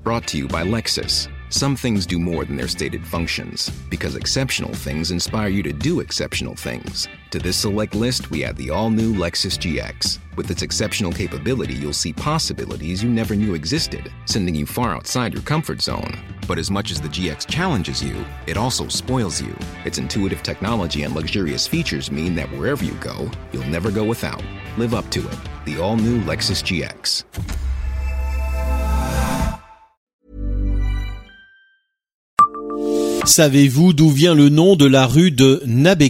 Brought to you by Lexus. Some things do more than their stated functions, because exceptional things inspire you to do exceptional things. To this select list, we add the all-new Lexus GX. With its exceptional capability, you'll see possibilities you never knew existed, sending you far outside your comfort zone. But as much as the GX challenges you, it also spoils you. Its intuitive technology and luxurious features mean that wherever you go, you'll never go without. Live up to it. The all-new Lexus GX. Savez-vous d'où vient le nom de la rue de Nabécor ?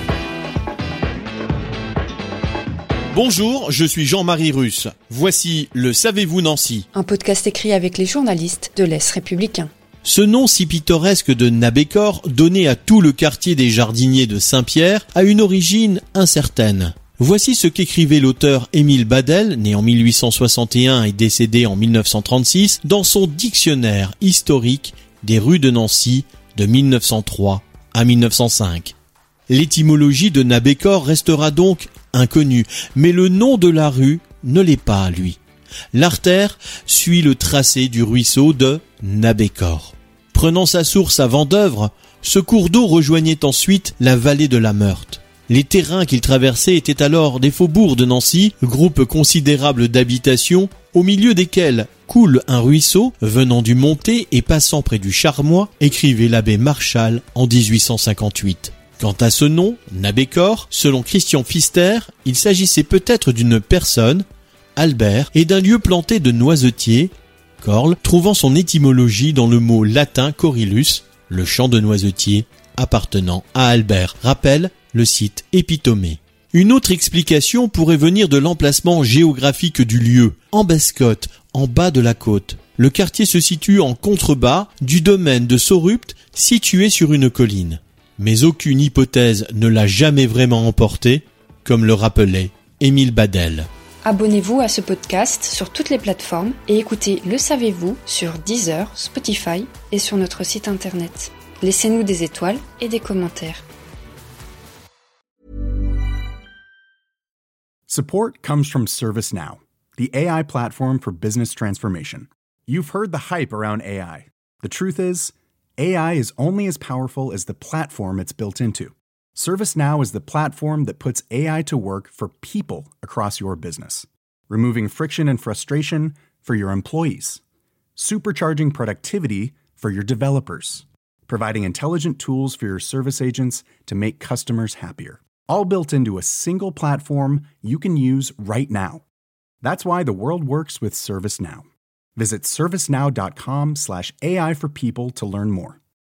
Bonjour, je suis Jean-Marie Russe. Voici le Savez-vous Nancy ? Un podcast écrit avec les journalistes de l'Est républicain. Ce nom si pittoresque de Nabécor, donné à tout le quartier des Jardiniers de Saint-Pierre, a une origine incertaine. Voici ce qu'écrivait l'auteur Émile Badel, né en 1861 et décédé en 1936, dans son dictionnaire historique des rues de Nancy de 1903 à 1905. L'étymologie de Nabécor restera donc inconnue, mais le nom de la rue ne l'est pas, lui. L'artère suit le tracé du ruisseau de Nabécor. Prenant sa source à Vendeuvre, ce cours d'eau rejoignait ensuite la vallée de la Meurthe. Les terrains qu'il traversait étaient alors des faubourgs de Nancy, groupe considérable d'habitations, au milieu desquels coule un ruisseau venant du Montet et passant près du Charmois, écrivait l'abbé Marchal en 1858. Quant à ce nom, Nabécor, selon Christian Pfister, il s'agissait peut-être d'une personne, Albert, et d'un lieu planté de noisetiers, Corle, trouvant son étymologie dans le mot latin corylus, le champ de noisetiers, appartenant à Albert. Rappel, le site épitomé. Une autre explication pourrait venir de l'emplacement géographique du lieu, en Bescotte, en bas de la côte. Le quartier se situe en contrebas du domaine de Saurupt, situé sur une colline. Mais aucune hypothèse ne l'a jamais vraiment emporté, comme le rappelait Émile Badel. Abonnez-vous à ce podcast sur toutes les plateformes et écoutez Le Savez-vous sur Deezer, Spotify et sur notre site internet. Laissez-nous des étoiles et des commentaires. Support comes from ServiceNow, the AI platform for business transformation. You've heard the hype around AI. The truth is, AI is only as powerful as the platform it's built into. ServiceNow is the platform that puts AI to work for people across your business, removing friction and frustration for your employees, supercharging productivity for your developers, providing intelligent tools for your service agents to make customers happier. All built into a single platform you can use right now. That's why the world works with ServiceNow. Visit servicenow.com/AI for people to learn more.